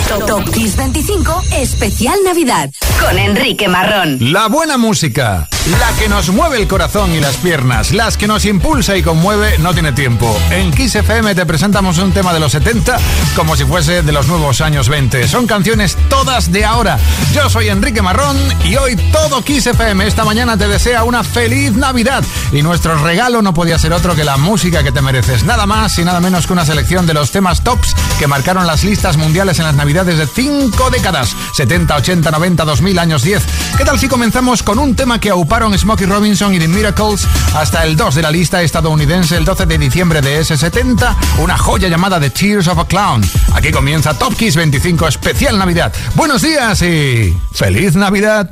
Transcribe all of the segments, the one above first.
Top Kiss 25 Especial Navidad con Enrique Marrón. La buena música, la que nos mueve el corazón y las piernas, las que nos impulsa y conmueve, no tiene tiempo. En Kiss FM te presentamos un tema de los 70 como si fuese de los nuevos años 20. Son canciones todas de ahora. Yo soy Enrique Marrón y hoy todo Kiss FM esta mañana te desea una feliz Navidad. Y nuestro regalo no podía ser otro que la música que te mereces. Nada más y nada menos que una selección de los temas tops que marcaron las listas mundiales en las Navidades de 5 décadas, 70, 80, 90, 2000, años 10. ¿Qué tal si comenzamos con un tema que auparon Smokey Robinson y The Miracles hasta el 2 de la lista estadounidense el 12 de diciembre de ese 70, una joya llamada The Tears of a Clown? Aquí comienza Top Kiss 25 Especial Navidad. Buenos días y ¡feliz Navidad!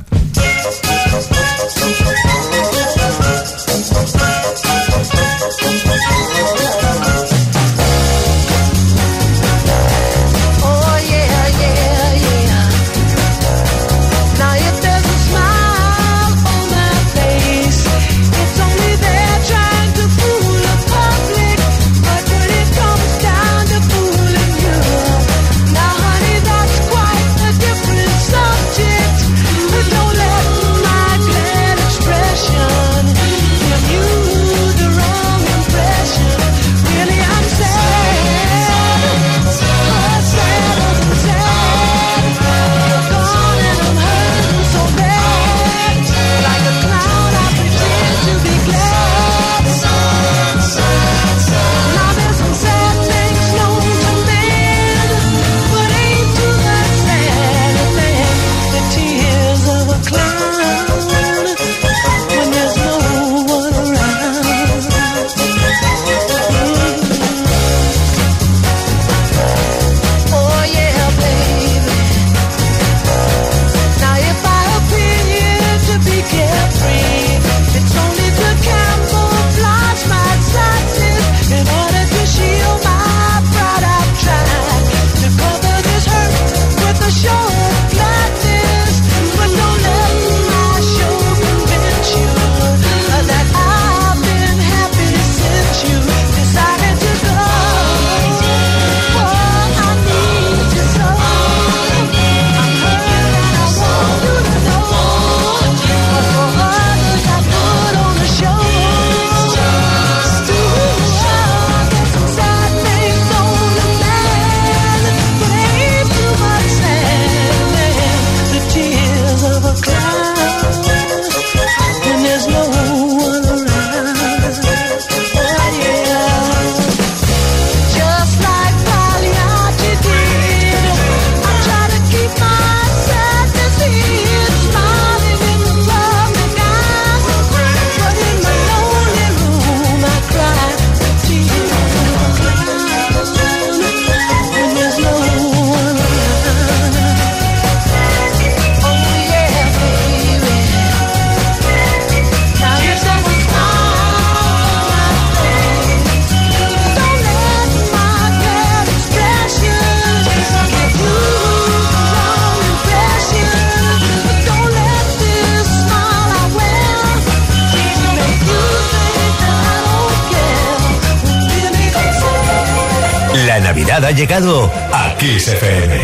La Navidad ha llegado a Kiss FM.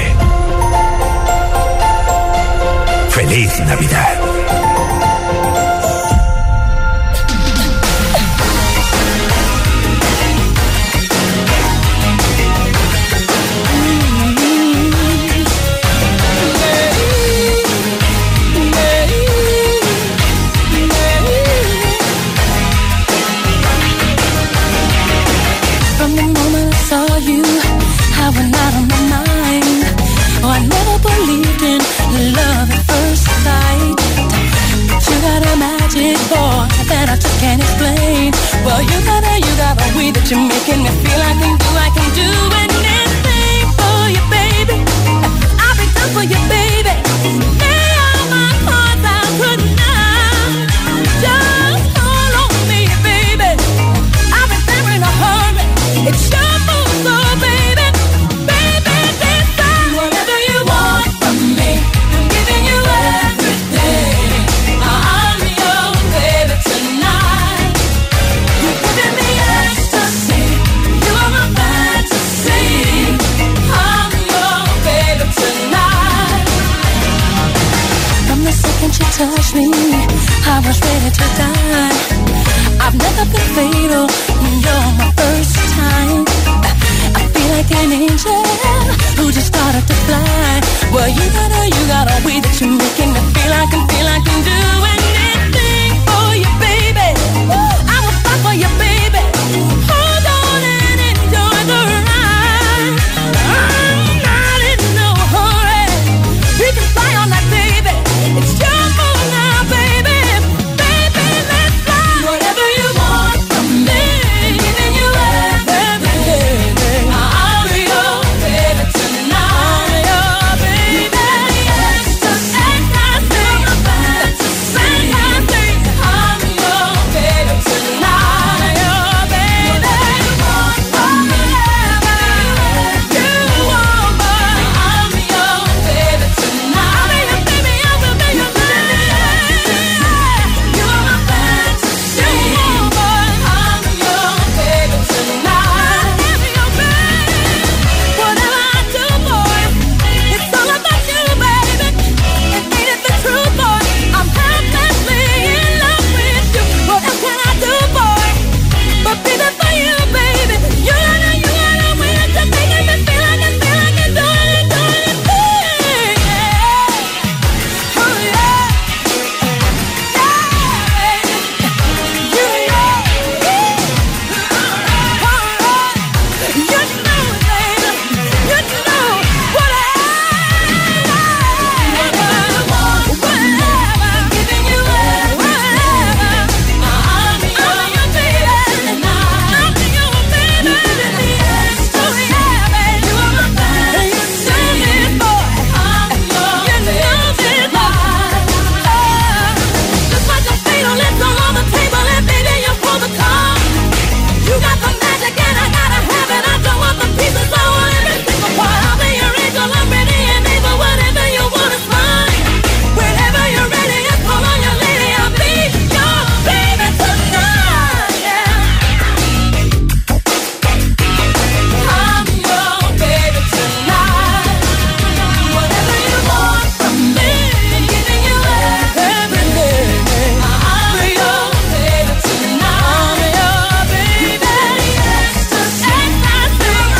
¡Feliz Navidad! Can't explain. Well, you got a way that you're making me feel I can do anything for you, baby. I'll be done for you, baby. Lay all my cards out tonight. Just call on me, baby. I'll be there in a hurry. It's your move, so baby, baby, decide whatever you want from me. I'm giving you everything. I'm your baby tonight. You're giving me ecstasy. You are my fantasy. touched me, I was ready to die. I've never been fatal, you're my first time. I feel like an angel who just started to fly. Well, you got a way that you're making me feel I can do anything for you, baby. I will fight for you, baby. Hold on and enjoy the ride. I'm not in no hurry. We can fly on that, baby. It's your fault now, baby. Baby, let's fly. Whatever you want from me, giving you everything. I'll be your baby tonight. I'm your baby. Yes, just fantastic. Fantastic. I'm your baby tonight. Your baby. You want whatever you want, but I'm your baby tonight. I'll be your baby. I will be your baby. You are my fantasy, but I'm your baby tonight. I'm your baby. Whatever I do, boy, it's all about you, baby. It ain't the truth, boy. I'm helplessly in love with you. What else can I do, boy, but be there for you, baby? You gotta win to making me feel like I do anything. Yeah. Oh yeah. You got the magic and I gotta have it. I don't want the pieces, I want every single part. I'll be your angel, I'm ready and able. Whatever you want is mine. Whenever you're ready, just call on your lady. I'll be your baby tonight. Yeah. I'm your baby tonight. Whatever you want from me, giving you everything. I'm your baby tonight. I'm your baby. Yes, just fantastic.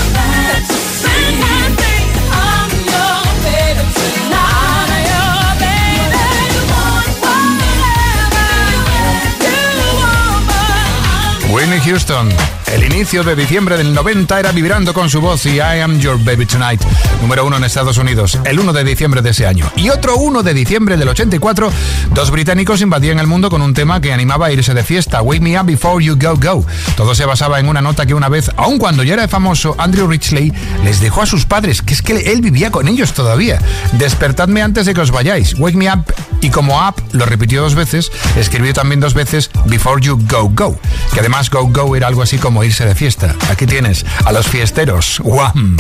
Fantastic. I'm your baby tonight. I'm your baby. You want whatever you want, but Whitney Houston. El inicio de diciembre del 90 era vibrando con su voz y I Am Your Baby Tonight, número 1 en Estados Unidos, el 1 de diciembre de ese año. Y otro 1 de diciembre del 84, dos británicos invadían el mundo con un tema que animaba a irse de fiesta, Wake Me Up Before You Go Go. Todo se basaba en una nota que una vez, aun cuando ya era famoso, Andrew Ridgeley les dejó a sus padres, que es que él vivía con ellos todavía. Despertadme antes de que os vayáis, Wake Me Up, y como up lo repitió 2 veces, escribió también 2 veces Before You Go Go, que además Go Go era algo así como irse de fiesta. Aquí tienes a los fiesteros. Wham!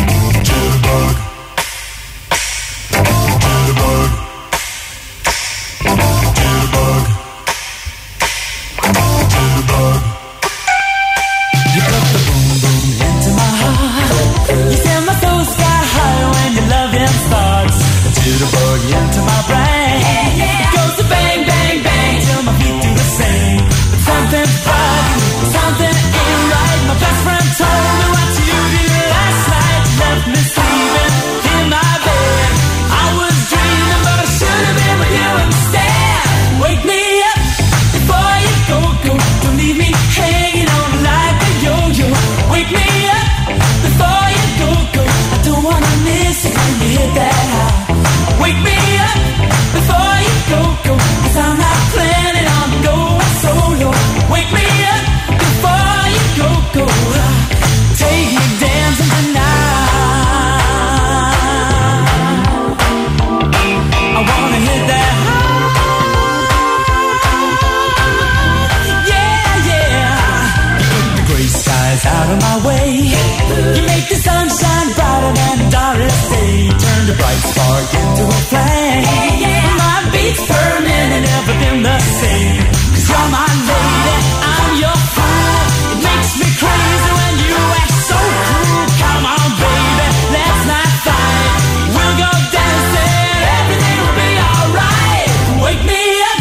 Wake me up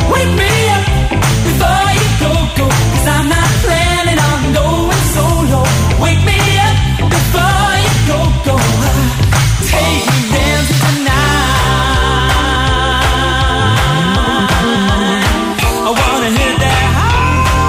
Wake me up before you go, 'cause I'm not planning on going solo. Wake me up before you go. Take me dancing tonight. I wanna hit that high.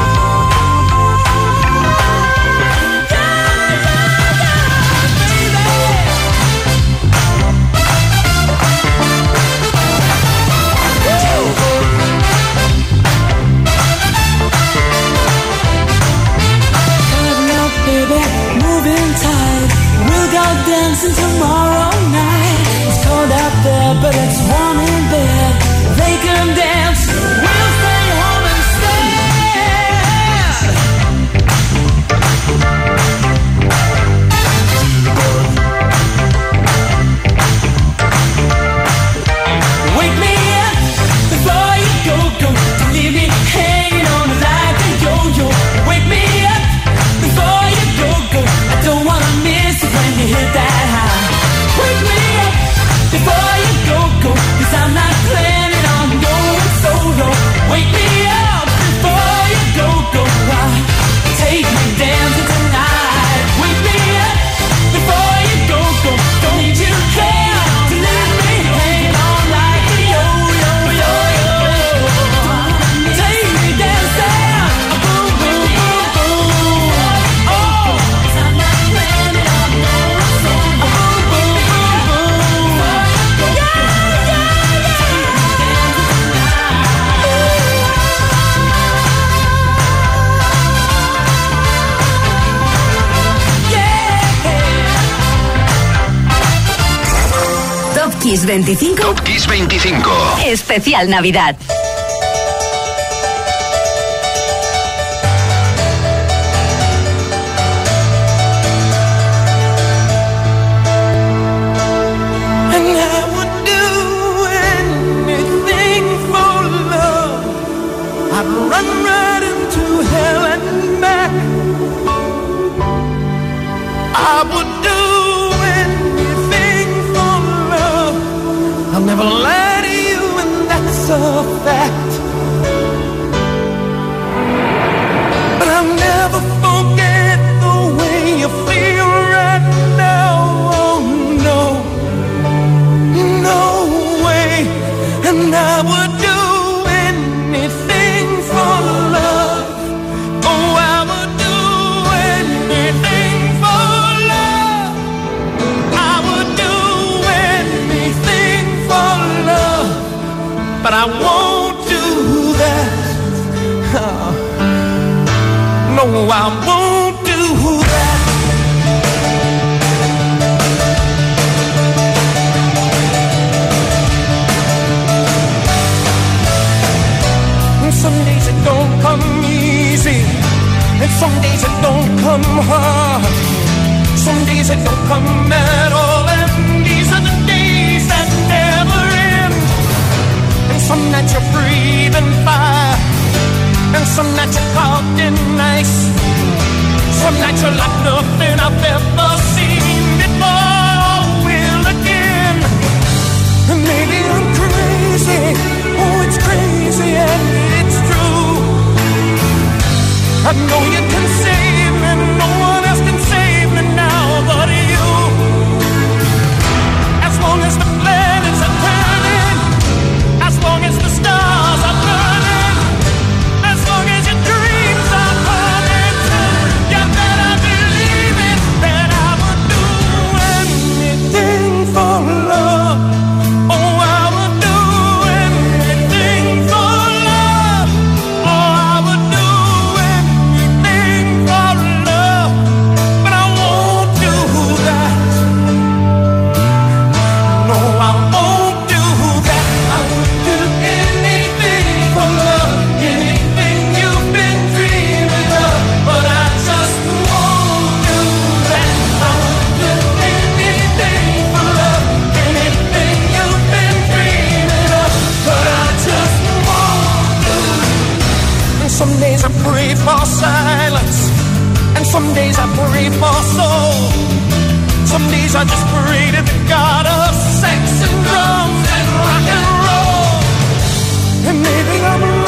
Dancing tomorrow night. It's cold out there, but it's warm in bed. They can dance, we'll stay home instead. Wake me up before you go. Don't leave me hanging on like a yo-yo. Wake me up before you go. I don't wanna miss it when you hit that high. Wake me up before you go, 'cause I'm not planning on going solo. Wake me up before you go. Take me dancing tonight. Wake me up before you go. Don't need you care to leave me hanging on like a yo-yo. Take me dancing, boom, boom, boom, boom. Oh, 'cause I'm not planning on going solo. Boom, boom, boom, boom. Top Kiss 25. Top Kiss 25. Especial Navidad. And I would do anything for love. I'd run right into hell and back. I would do anything for love. I'll never lie to you, and that's a fact. But I'll never forget the way you feel right now. Oh no, no way. And I would do anything for love. Oh, I would do anything for love. I would do anything for love. But I won't do that. Oh, no, I won't do that. And some days it don't come easy, and some days it don't come hard. Some days it don't come at all, and these are the days that never end. And some nights you're breathing fire, and some nights you're caught in ice. Some nights you're like nothing I've ever seen before or will again. And maybe I'm crazy, oh it's crazy and it's true. I know you can save me, no one else can save me now but you. As long as the planets are turning, as long as the stars are burning, as long as your dreams are burning, you better believe it, that I would do anything for love. Oh, I would do anything for love. Oh, I would do anything for love. But I won't do that. No, I won't do that. I would do anything for love, anything you've been dreaming of. But I just won't do that. I would do anything for love, anything you've been dreaming of. But I just won't do that. And some days I pray for silence, and some days I pray for soul. Some days I just pray to the God of sex and drums and rock and roll. And maybe I'm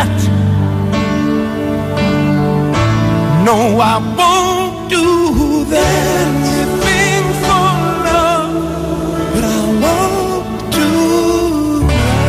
not. No, I won't do that. Anything for love, but I won't do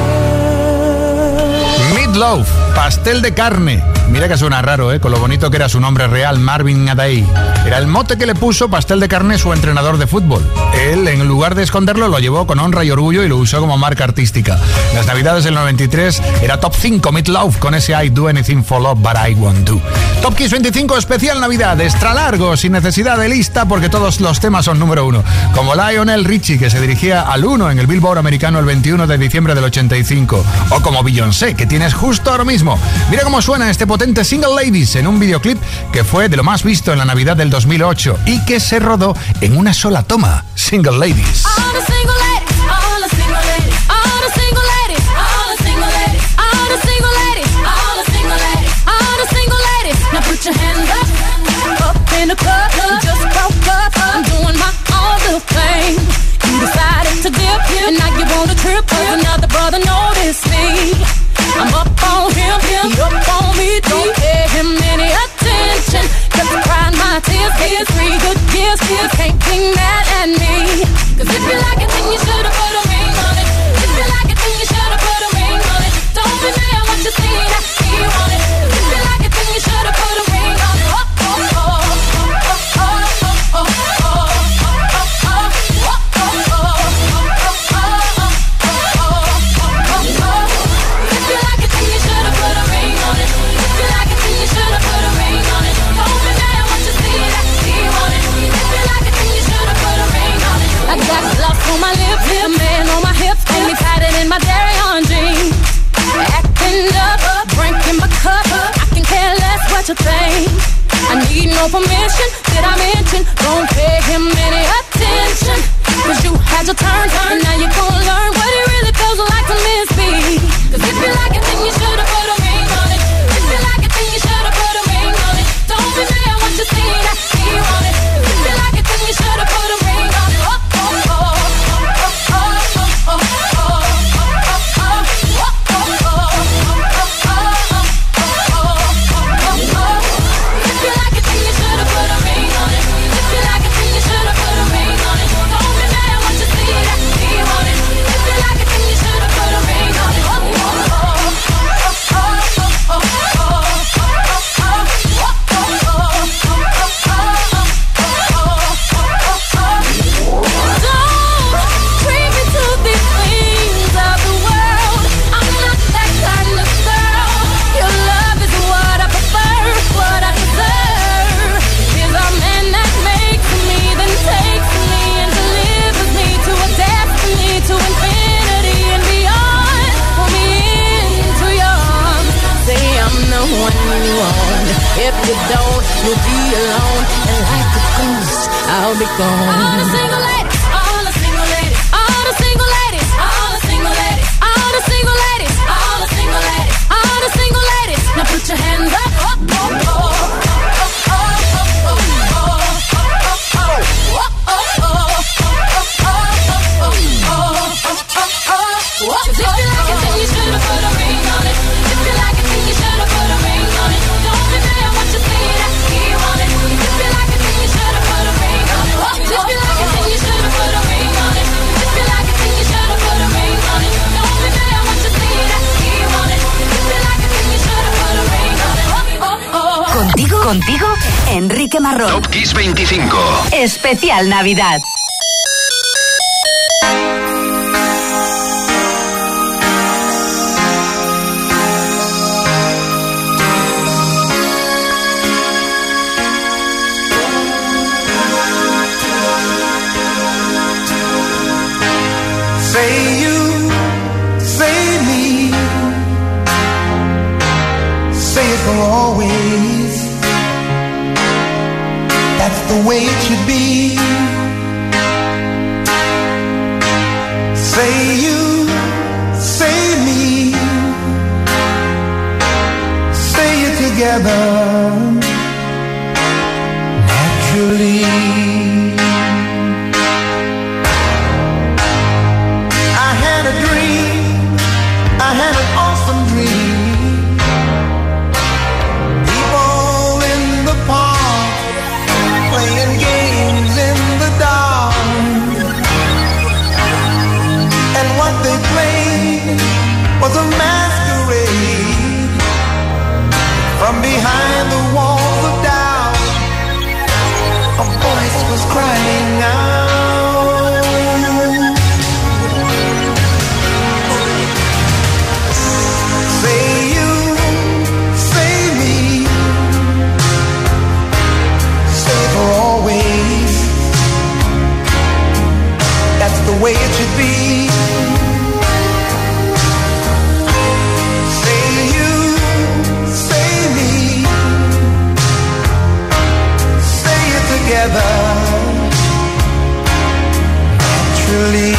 that. Meatloaf, pastel de carne. Mira que suena raro, con lo bonito que era su nombre real, Marvin Gaye. Era el mote que le puso pastel de carne su entrenador de fútbol. Él, en lugar de esconderlo, lo llevó con honra y orgullo y lo usó como marca artística. En las navidades del 93 era top 5 Meatloaf con ese I do anything for love but I won't do. Top Kiss 25 especial Navidad, extra largo, sin necesidad de lista porque todos los temas son número 1. Como Lionel Richie, que se dirigía al 1 en el Billboard americano el 21 de diciembre del 85. O como Beyoncé, que tienes justo ahora mismo. Mira cómo suena este potente Single Ladies en un videoclip que fue de lo más visto en la Navidad del 2008 y que se rodó en una sola toma. Single Ladies. Your hands up in the club, just broke up, I'm doing my own little thing. You decided to dip, and now you want a trip, cause another brother noticed me. I'm up on him, he up on me, don't pay him any attention. Kept crying my tears, 3 good years, can't be mad at me. Cause if you like it, then you should've put a ring on it. If you like it, then you should've put a ring on it. Don't be mad what you see that he want it. If you like it, then you should've put a ring on it. On my lips, a man on my hips, and me tighter than my dairy on jeans. Acting up, drinking my cup, I can care less what you think. I need no permission, did I mention? Don't pay him any attention. Cause you had your turn, and now you gon' learn what it really feels like to miss me. Cause if you like it, then you should've put a ring on it. If you like it, then you should've put a ring on it. Don't be mad what you see that he want it. If you like it, then you should've put a ring on it. If you don't, you'll be alone, and like a ghost, I'll be gone. All the single ladies, all the single ladies, all the single ladies, all the single ladies, all the single ladies, all the single ladies, all the single ladies. Now put your hands up, If you like it, then you should've put a ring on it. If you like it, then you should've put a ring on it. Don't be mad what you see that he want it. If you like it, then you should've put a ring on it. If you like it, then you should've put a ring on it. If you like it, then you should've put a ring on it. Don't be mad what you see that he want it. If you like it, then you should've put a ring on it. Contigo, Enrique Marrón. Top Kiss 25. Especial Navidad. Say you, say me, say it for always. That's the way it should be. Say you, say me, say it together naturally. I had an awesome dream played was a masquerade. From behind the walls of doubt, a voice was crying out. Say you, say me, say for always. That's the way it should be. Say you, say me, say it together, naturally.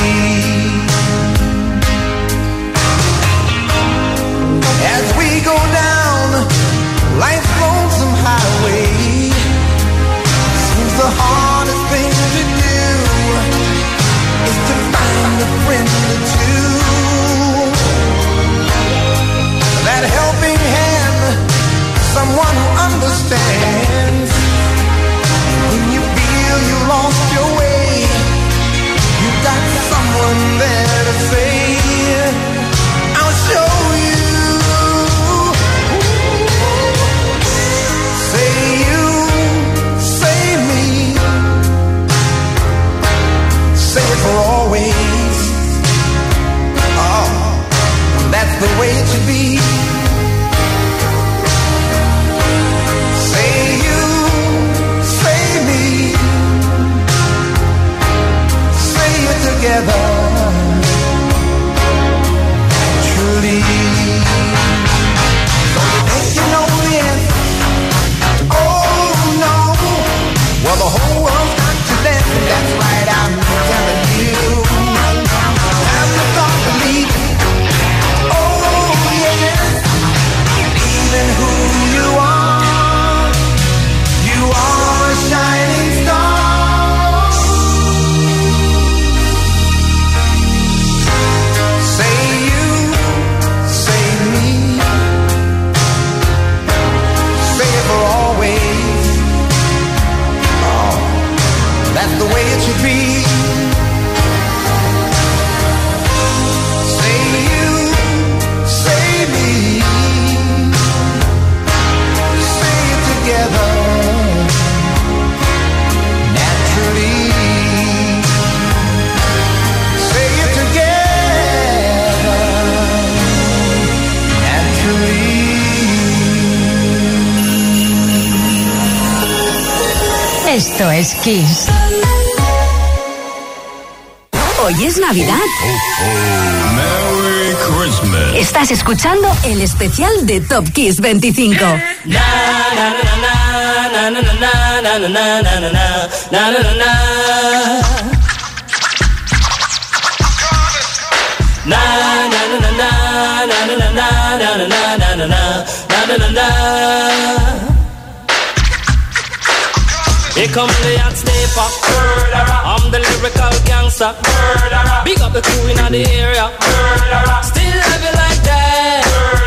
As we go down life's lonesome highway, seems the hardest thing to do is to find a friend or two. That helping hand, someone who understands. When you feel you lost your way, you got someone there to say, I'll show you. Say you, say me, say it for always. Oh, that's the way it should be. Say you, say me, say it together, naturally. So you think you know the answer? Oh no. Well, the whole world's got to listen. That's right, I'm telling you. Have the thought to lead. Oh yes. Believe in who you are. You are a shining star. Say you, say me, say it for always. Oh, that's the way it should be. Say you, say me, say it together, naturally. Say it together, naturally. Esto es Kiss. Hoy es Navidad. Merry Christmas. Estás escuchando el especial de Top Kiss 25. Here come the hot stepper. I'm the lyrical gangster. Big up the crew in the area. Still love you like that.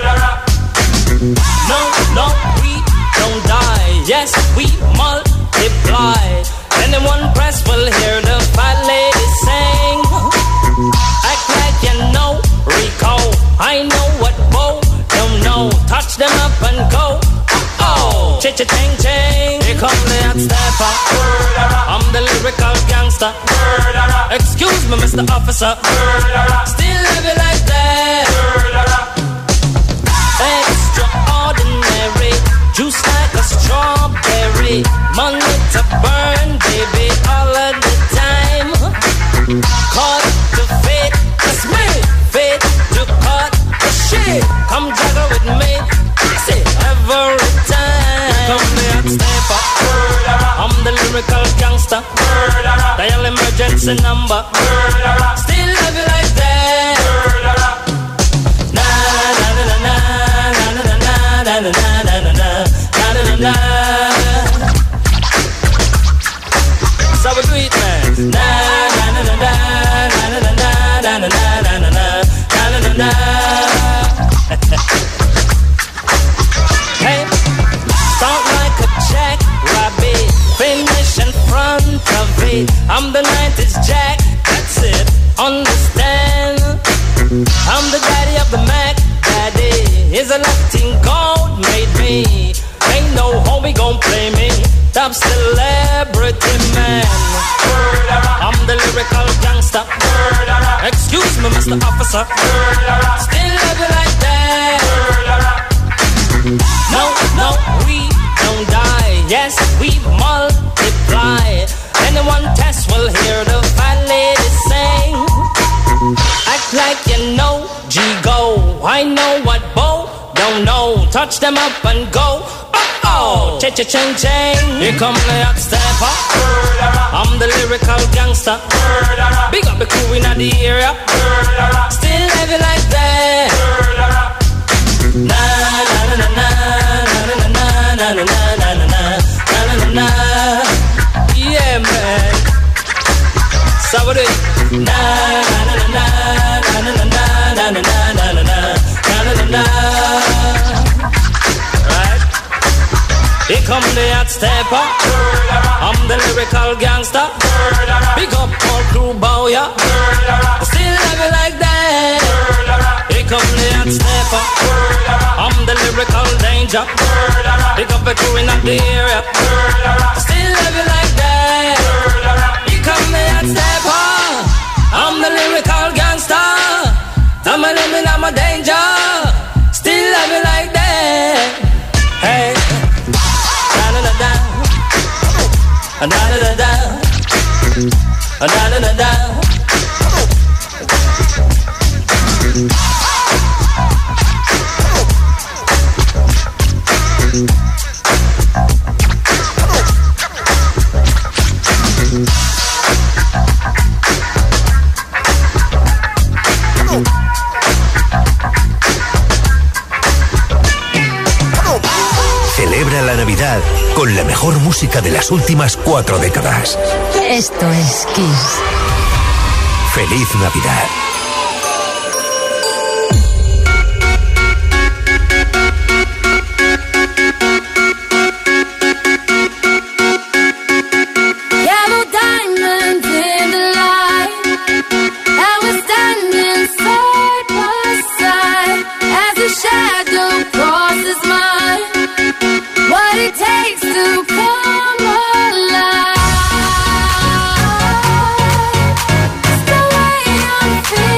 No, no, we don't die. Yes, we multiply. Anyone press will hear the fat lady sing. Act like you know Rico. I know what Bo don't know. Touch them up and go. Oh, cha-cha-ching-ching. Here come the hot stepper. I'm the lyrical gangster. Excuse me, Mr. Officer. Still love you like that. Extraordinary. Juice like a strawberry. Money to burn, baby, all of the time. Caught the fate, that's me. Fate to cut the shit. Come juggle with me. Say every time. Come here, step up. I'm the lyrical gangster. Dial emergency number. Still love you like that. Na na na na na na na na na na na na na na. So we do it, man. Na na na na na na na na na na na na na na. Hey, start like a jackrabbit, finish in front of it. I'm the 90s Jack, that's it. Understand? Selecting gold made me. Ain't no homie gon' play me. Top celebrity man. I'm the lyrical gangster. Excuse me, Mr. Officer. Still love you like that. No, no, we don't die. Yes, we multiply. Anyone test will hear the fat lady sing. Act like you know, G-Go. I know what Bo don't know. Touch them up and go. Oh, cha-cha-ching-ching. Here come the hot stepper. I'm the lyrical gangster. Big up the crew in the area. Still heavy like that. Na na na na na na na na na na na na na. Yeah, man. So what do you? Na na na na na na na na na na na na na. Right? Here come the hot stepper. I'm the lyrical gangster. Big up all crew bow ya. Still have it like that. Here come the hot stepper. I'm the lyrical danger. Big up the crew in the area. Still have it like that. Here come the hot stepper. I'm the lyrical gangster. I'm a living, I'm a danger. Still have it like that. Hey. Da-da-da-da. Da-da-da-da. Da-da-da-da. Celebra la Navidad con la mejor música de las últimas 4 décadas. Esto es Kiss. ¡Feliz Navidad! Feel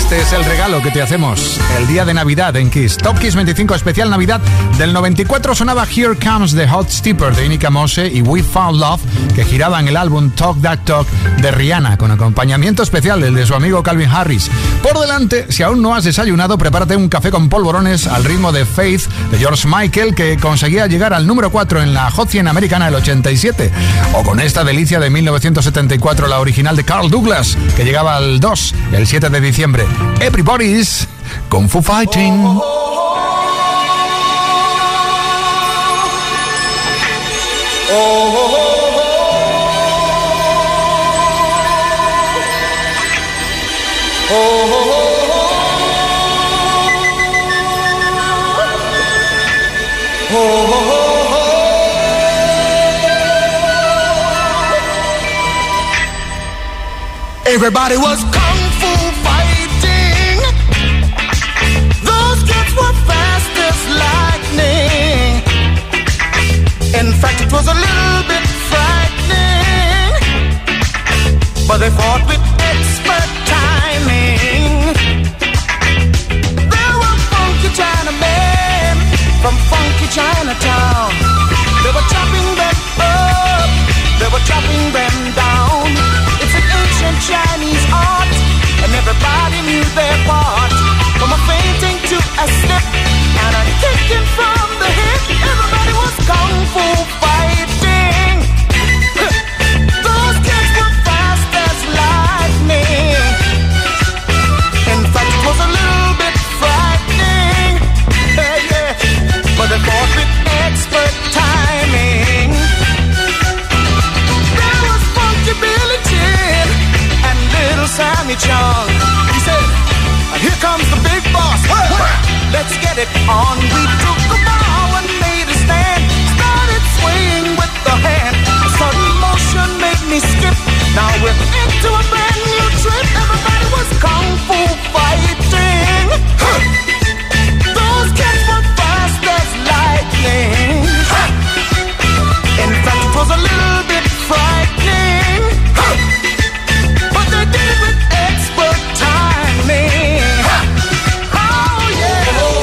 Este es el regalo que te hacemos el día de Navidad en Kiss. Top Kiss 25 especial Navidad. Del 94 sonaba Here Comes the Hot Stepper de Inika Mose y We Found Love, que giraba en el álbum Talk That Talk de Rihanna, con acompañamiento especial del de su amigo Calvin Harris. Por delante, si aún no has desayunado, prepárate un café con polvorones al ritmo de Faith de George Michael, que conseguía llegar al número 4 en la Hot 100 americana el 87. O con esta delicia de 1974, la original de Carl Douglas, que llegaba al 2 el 7 de diciembre. Everybody's Kung Fu Fighting. Everybody was kung fu fighting. Those kids were fast as lightning. In fact, it was a little bit frightening, but they fought with expert timing. There were funky Chinamen from funky Chinatown. They were chopping them up, they were chopping them down. It's an ancient Chinese art, and everybody knew their part. From a fainting to a slip, and a kicking from the hip. Everybody was kung fu fighting. Those kids were fast as lightning. In fact, it was a little bit frightening. Yeah, but they fought with expert timing. There was Funky Billy Chin and Little Sammy Chung. He said, "Here comes the big boss. Let's get it on." We took the bow and made a stand. Started swaying with the hand. A sudden motion made me skip. Now we're into a brand new trip. Everybody was kung fu fighting. Those kids were fast as lightning. In fact, it was a little bit frightening, but they did it with expert timing. Oh yeah.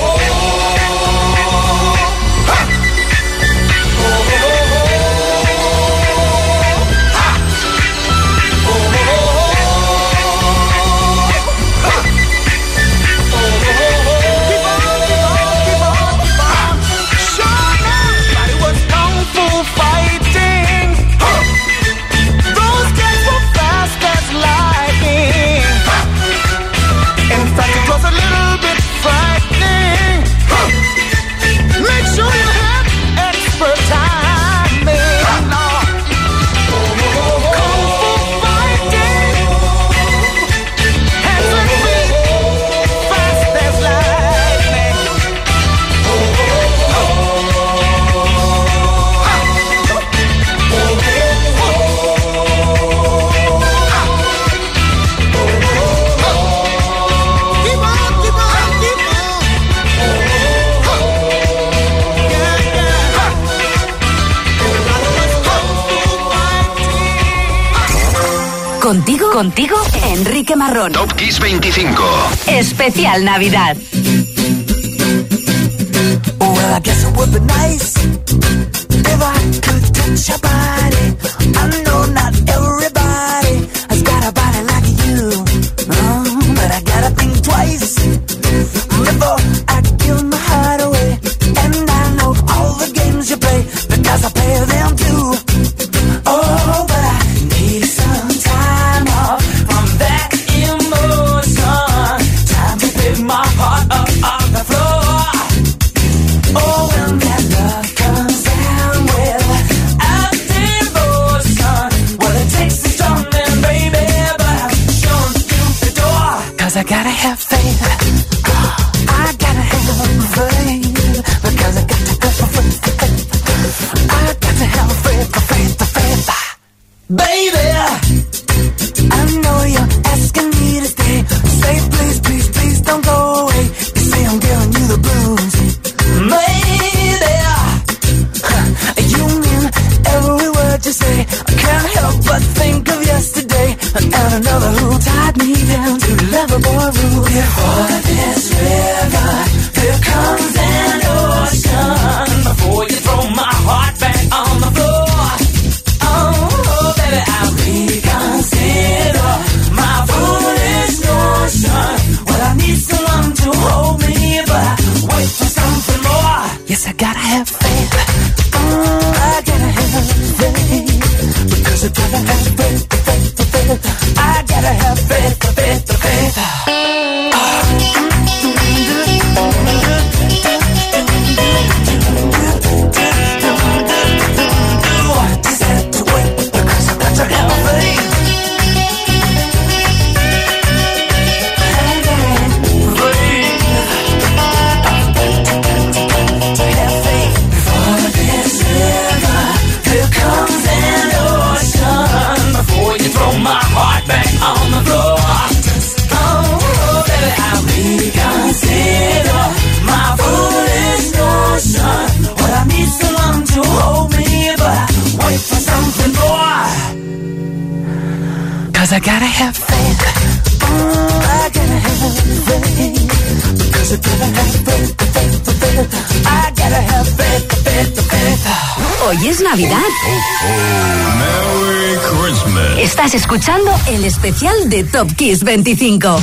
Contigo, Enrique Marrón. Top Kiss 25. Especial Navidad. Well, I guess it would be nice if I could touch your body. I know not everybody has got a body like you, but I gotta think twice before I give my heart away. And I know all the games you play because I play them too. Oh, but I need some time off from that emotion. Time to pick my heart up off the floor. Oh, when that love comes down without devotion, well, it takes a strong man, baby, but I'm showing you the door. 'Cause I gotta have faith. I gotta have faith. Because I got to have faith. I got to have faith, faith, faith. Baby, I know you're asking me to stay. Say please, please, please don't go away. You say I'm giving you the blues. Maybe you mean every word you say. I can't help but think of yesterday and another who tied me down to lovable rules. Before this river, here comes an ocean. Before you throw my heart back on the floor, oh, baby, I'll reconsider my foolish notion. Well, I need someone to hold me, but I wait for something more. Yes, I gotta have faith. I gotta have faith. Because I gotta have faith, faith, faith. I gotta have faith, faith, faith. Just have to wait because I got to have faith. My heart back on the floor. Oh, baby, I'll reconsider my foolish notion. Well, I need someone to hold me, but I wait for something more. 'Cause I gotta have faith. I gotta have faith. Because I gotta have faith, faith, faith. I gotta have faith, faith, faith. Hoy es Navidad. Merry Christmas. Estás escuchando el especial de Top Kiss 25.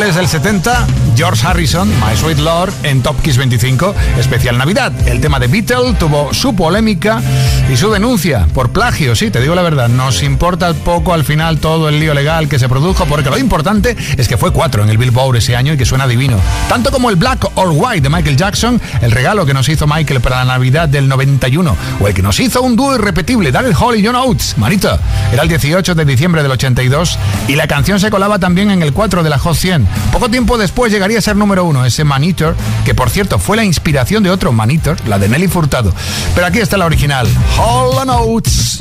finales del 70, George Harrison, My Sweet Lord, en Top Kiss 25, especial Navidad. El tema de Beatle tuvo su polémica y su denuncia por plagio. Sí, te digo la verdad, nos importa poco al final todo el lío legal que se produjo, porque lo importante es que fue 4 en el Billboard ese año y que suena divino. Tanto como el Black or White de Michael Jackson, el regalo que nos hizo Michael para la Navidad del 91, o el que nos hizo un dúo irrepetible, Daryl Hall y John Oates, Manito. Era el 18 de diciembre del 82 y la canción se colaba también en el 4 de la Hot 100. Poco tiempo después llegaría a ser número 1, ese Man Eater, que por cierto fue la inspiración de otro Man Eater, la de Nelly Furtado. Pero aquí está la original, Hall & Oates.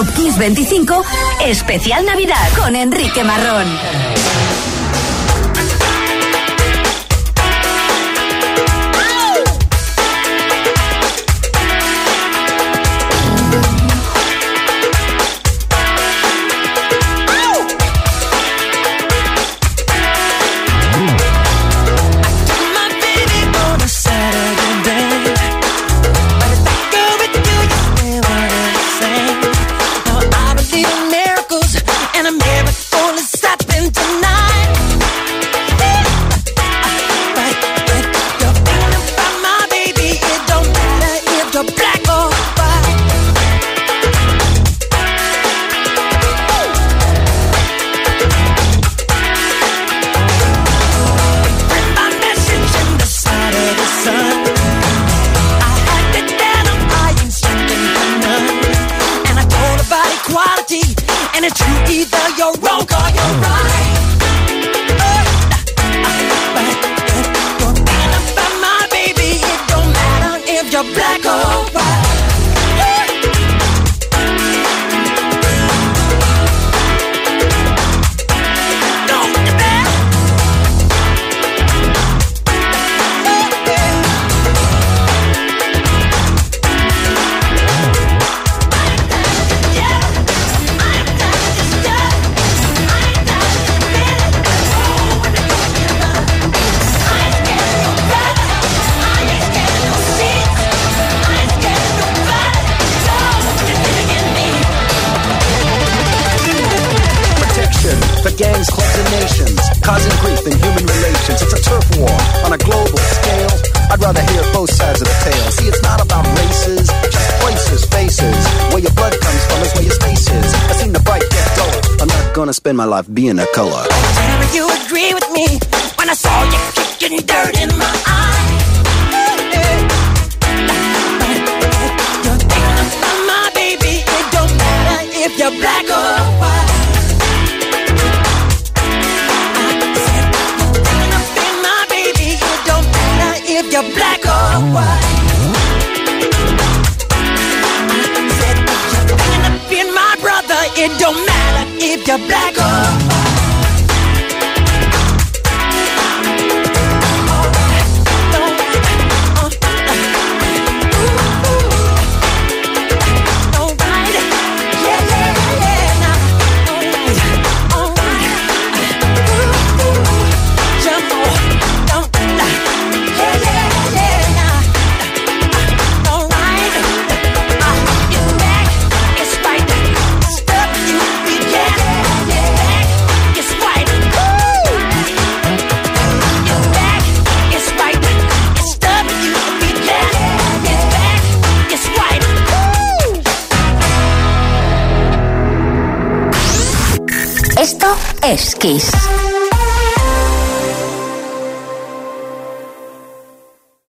Top Kiss 25, especial Navidad con Enrique Marrón. Spend my life being a color. Whenever you agree with me when I saw you kicking dirt in my eye. You're thinking about my baby. It don't matter if you're black or white. I said you're thinking about my baby. It don't matter if you're black or white. I said you're thinking about my brother. It don't matter if you're black or white. Esto es Kiss.